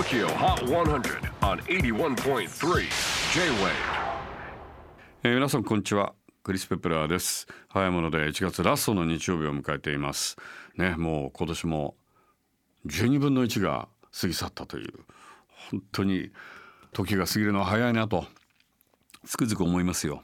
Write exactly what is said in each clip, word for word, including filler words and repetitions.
Tokyo Hot one hundred on エイティワンポイントスリー J-Wave、 えー、皆さんこんにちは、クリス・ペプラーです。早いものでいちがつラストの日曜日を迎えていますね。もう今年もじゅうにぶんのいちが過ぎ去ったという、本当に時が過ぎるのは早いなとつくづく思いますよ。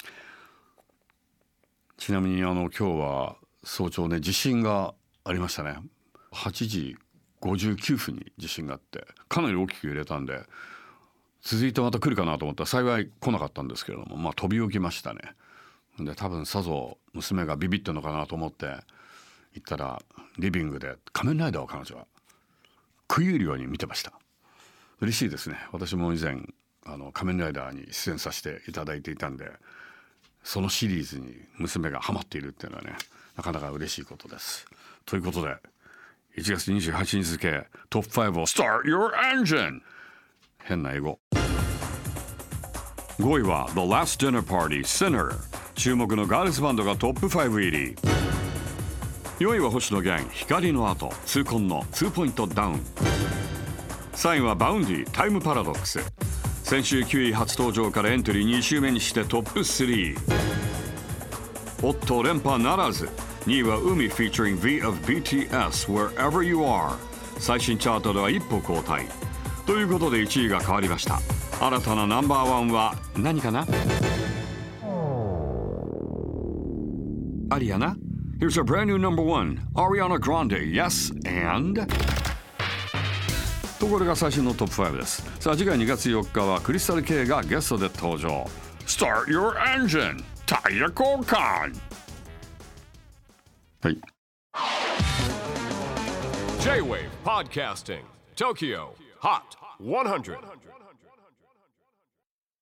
ちなみにあの今日は早朝ね、地震がありましたね。はちじごじゅうきゅうふんに地震があって、かなり大きく揺れたんで、続いてまた来るかなと思ったら幸い来なかったんですけれども、まあ飛び起きましたね。で多分さぞ娘がビビってんのかなと思って行ったら、リビングで仮面ライダーを彼女は食い入るように見てました。嬉しいですね。私も以前あの仮面ライダーに出演させていただいていたんで、そのシリーズに娘がハマっているっていうのはね、なかなか嬉しいことです。ということでいちがつにじゅうはちにち付トップファイブを Start Your Engine。 変な英語。ごいは The Last Dinner Party Sinner、 注目のガールズバンドがトップファイブ入り。よいは星野源光の後、痛恨のにポイントダウン。さんいはバウンディタイムパラドックス、先週きゅうい初登場からエントリーに週目にしてトップスリー。おっと連覇ならず。にいは海 featuring V of ビーティーエスWherever You Are、 最新チャートでは一歩後退ということでいちいが変わりました。新たなナンバーワンは何かな。アリアナ Here's a brand new number one Ariana Grande Yes and と、これが最新のトップファイブです。さあ次回にがつよっかはクリスタル K がゲストで登場。 Start your engine タイヤ交換。はい。 J-Wave Podcasting Tokyo Hot one hundred